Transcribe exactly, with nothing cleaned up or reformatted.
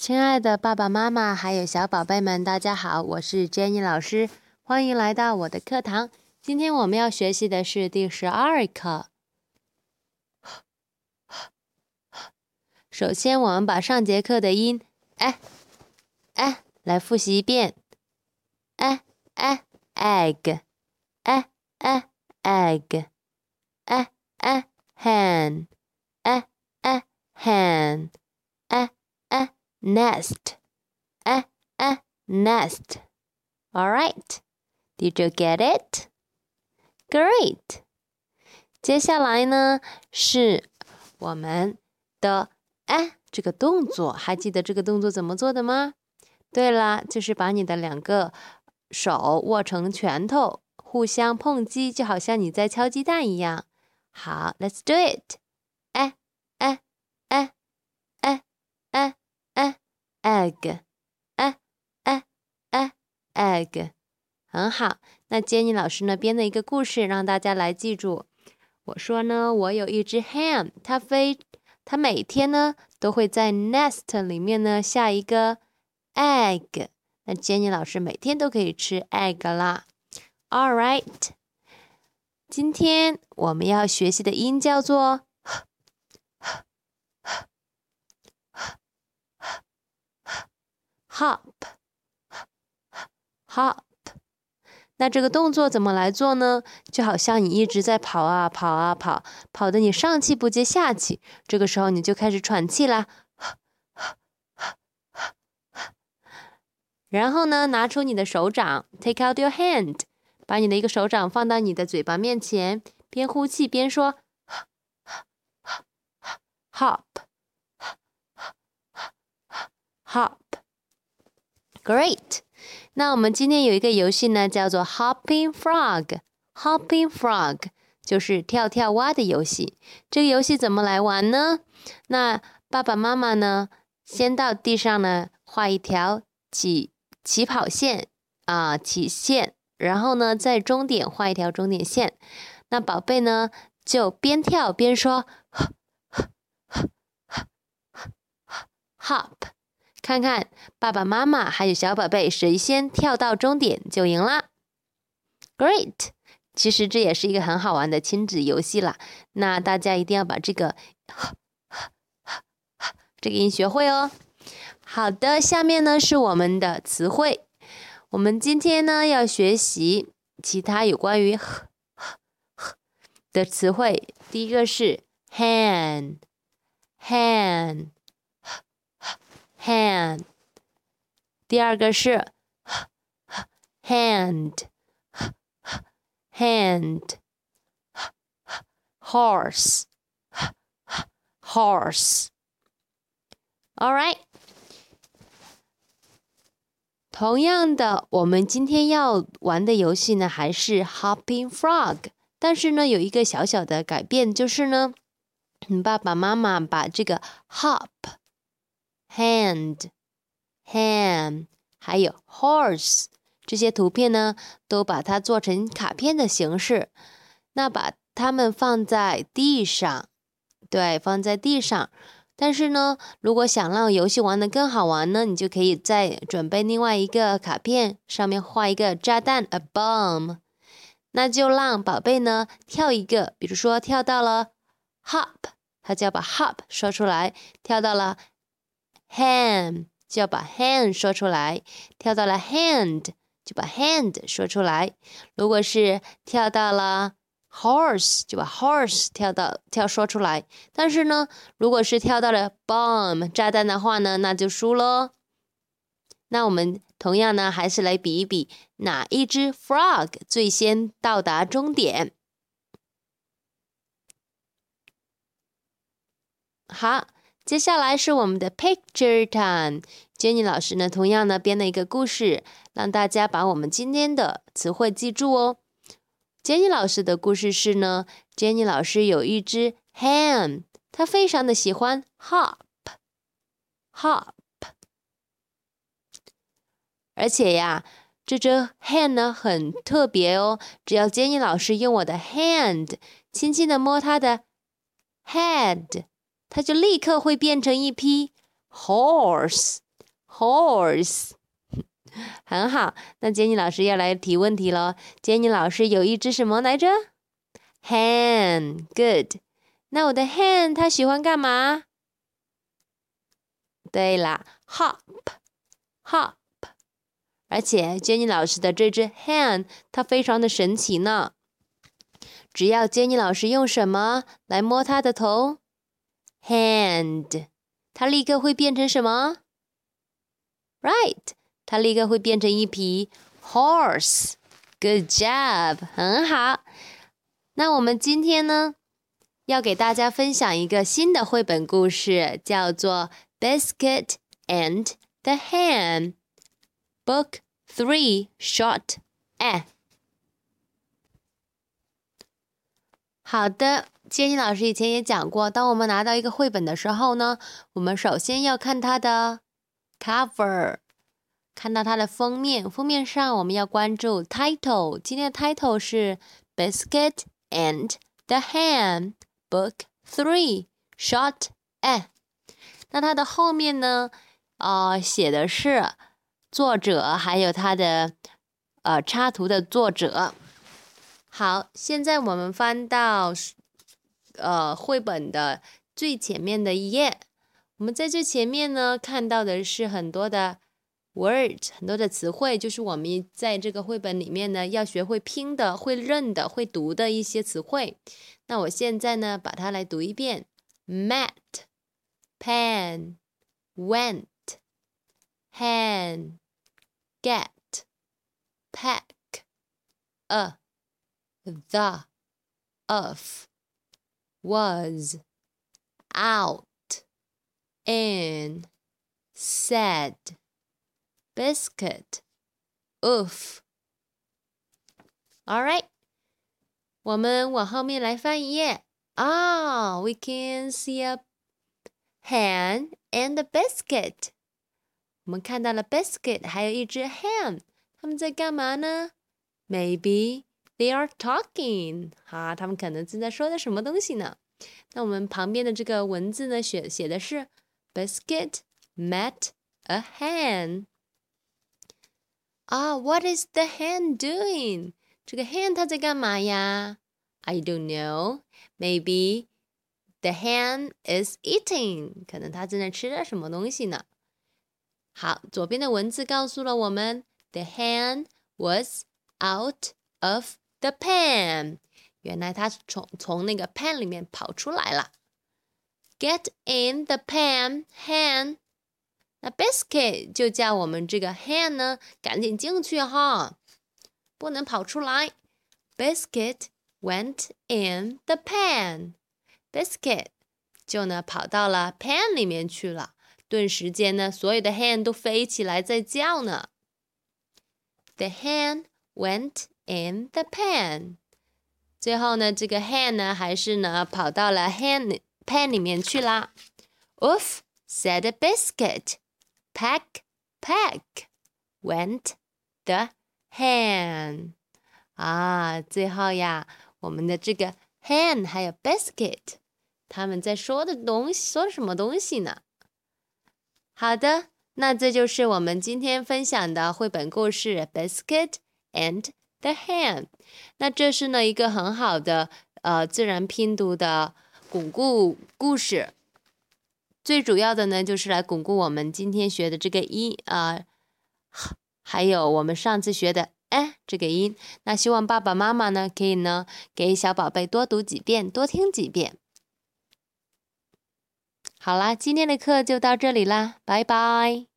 亲爱的爸爸妈妈还有小宝贝们，大家好，我是 Jenny 老师，欢迎来到我的课堂。今天我们要学习的是第十二课。首先，我们把上节课的音哎哎来复习一遍。哎哎 egg， 哎哎 egg， 哎哎 hen， 哎哎 hen， 哎哎 nest， 哎哎 nest。 All right, did you get it? Great. 接下来呢是我们的哎这个动作，还记得这个动作怎么做的吗？对了，就是把你的两个手握成拳头，互相碰击，就好像你在敲鸡蛋一样。好 ，Let's do it. 哎哎哎哎哎哎 egg， 哎哎哎 egg， 很好。那Jenny老师呢编了一个故事，让大家来记住。我说呢，我有一只 hen， 它飞，它每天呢都会在 nest 里面呢下一个 egg。那 Jenny 老师每天都可以吃 egg 啦。All right， 今天我们要学习的音叫做 hop hop。那这个动作怎么来做呢？就好像你一直在跑啊跑啊跑，跑得你上气不接下气，这个时候你就开始喘气啦。然后呢，拿出你的手掌 ，take out your hand， 把你的一个手掌放到你的嘴巴面前，边呼气边说 hop hop。 Great。 那我们今天有一个游戏呢，叫做 Hopping Frog。 Hopping Frog 就是跳跳蛙的游戏。这个游戏怎么来玩呢？那爸爸妈妈呢，先到地上呢画一条起起跑线啊，起线，然后呢在终点画一条终点线。那宝贝呢就边跳边说 hop， 看看爸爸妈妈还有小宝贝谁先跳到终点就赢啦。 Great， 其实这也是一个很好玩的亲子游戏啦。那大家一定要把这个这个音学会哦。好的，下面呢是我们的词汇。我们今天呢要学习其他有关于的词汇。第一个是 hen hen hen， 第二个是 hand hand horse horse。 All right， 同样的，我们今天要玩的游戏呢还是 Hopping Frog， 但是呢有一个小小的改变，就是呢爸爸妈妈把这个 hop hand hand 还有 horse 这些图片呢都把它做成卡片的形式，那把它们放在地上，对，放在地上。但是呢如果想让游戏玩得更好玩呢，你就可以再准备另外一个卡片，上面画一个炸弹 a bomb， 那就让宝贝呢跳一个，比如说跳到了 hop， 他就要把 hop 说出来，跳到了 hen 就要把 hen 说出来，跳到了 hand 就把 hand 说出来。如果是跳到了 horse 就把 horse 跳到跳说出来。但是呢如果是跳到了 bomb 炸弹的话呢，那就输咯。那我们同样呢还是来比一比哪一只 frog 最先到达终点。好，接下来是我们的 picture time。 Jenny 老师呢同样呢编了一个故事，让大家把我们今天的词汇记住哦。Jenny 老师的故事是呢 Jenny 老师有一只 hen， 她非常的喜欢 hop hop， 而且呀这只 hen 呢很特别哦，只要 Jenny 老师用我的 hand 轻轻的摸它的 head， 它就立刻会变成一匹 horse horse 很好，那杰尼老师要来提问题咯。杰尼老师有一只什么来着？ hen good 那我的 hen 它喜欢干嘛？对啦 hop hop 而且 Jenny 老师的这只 hen 它非常的神奇呢，只要 Jenny 老师用什么来摸它的头 hand 它立刻会变成什么？ right 它立刻会变成一匹 horse good job 很好。那我们今天呢要给大家分享一个新的绘本故事，叫做 Biscuit and the Hen Book three Short F 好的，杰尼老师以前也讲过，当我们拿到一个绘本的时候呢，我们首先要看它的 cover， 看到它的封面，封面上我们要关注 title， 今天的 title 是 Biscuit and the Hen Book three Short F 那它的后面呢呃，写的是作者还有它的呃插图的作者。好，现在我们翻到呃绘本的最前面的一页，我们在最前面呢看到的是很多的 word， 很多的词汇，就是我们在这个绘本里面呢要学会拼的、会认的、会读的一些词汇。那我现在呢把它来读一遍 Mat Pen Went Hen Get Pack A The Of Was Out In Said Biscuit Oof Alright我们往后面来翻一页啊、oh, we can see a hen and a biscuit 我们看到了 biscuit 还有一只 hen 他们在干嘛呢 Maybe they are talking 啊，他们可能正在说的什么东西呢？那我们旁边的这个文字呢写写的是 Biscuit met a hen 啊、oh, What is the hen doing? 这个 hen 它在干嘛呀 I don't know. Maybe the hen is eating. 可能它正在吃着什么东西呢。好，左边的文字告诉了我们 The hen was out of the pen. 原来它从从那个 pen 里面跑出来了。Get in the pen, hen. 那 biscuit 就叫我们这个 hen 呢赶紧进去哈，不能跑出来。Biscuit went in the pen. Biscuit 就呢跑到了 pen 里面去了。顿时间呢，所有的 hen 都飞起来在叫呢。The hen went in the pen. 最后呢，这个 hen 呢还是呢跑到了 hen pen 里面去啦。Oof, said a biscuit. Pack, pack, went the hen. 啊，最后呀，我们的这个 hen 还有 biscuit， 他们在说的东西，说什么东西呢？好的，那这就是我们今天分享的绘本故事 Biscuit and the Hen。那这是呢一个很好的呃自然拼读的巩固故事。最主要的呢，就是来巩固我们今天学的这个音啊、呃，还有我们上次学的哎这个音。那希望爸爸妈妈呢，可以呢给小宝贝多读几遍，多听几遍。好啦，今天的课就到这里啦，拜拜。